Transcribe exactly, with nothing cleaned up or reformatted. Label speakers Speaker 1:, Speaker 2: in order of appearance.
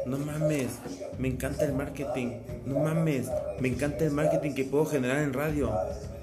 Speaker 1: No mames, me encanta el marketing. No mames, me encanta el marketing que puedo generar en radio.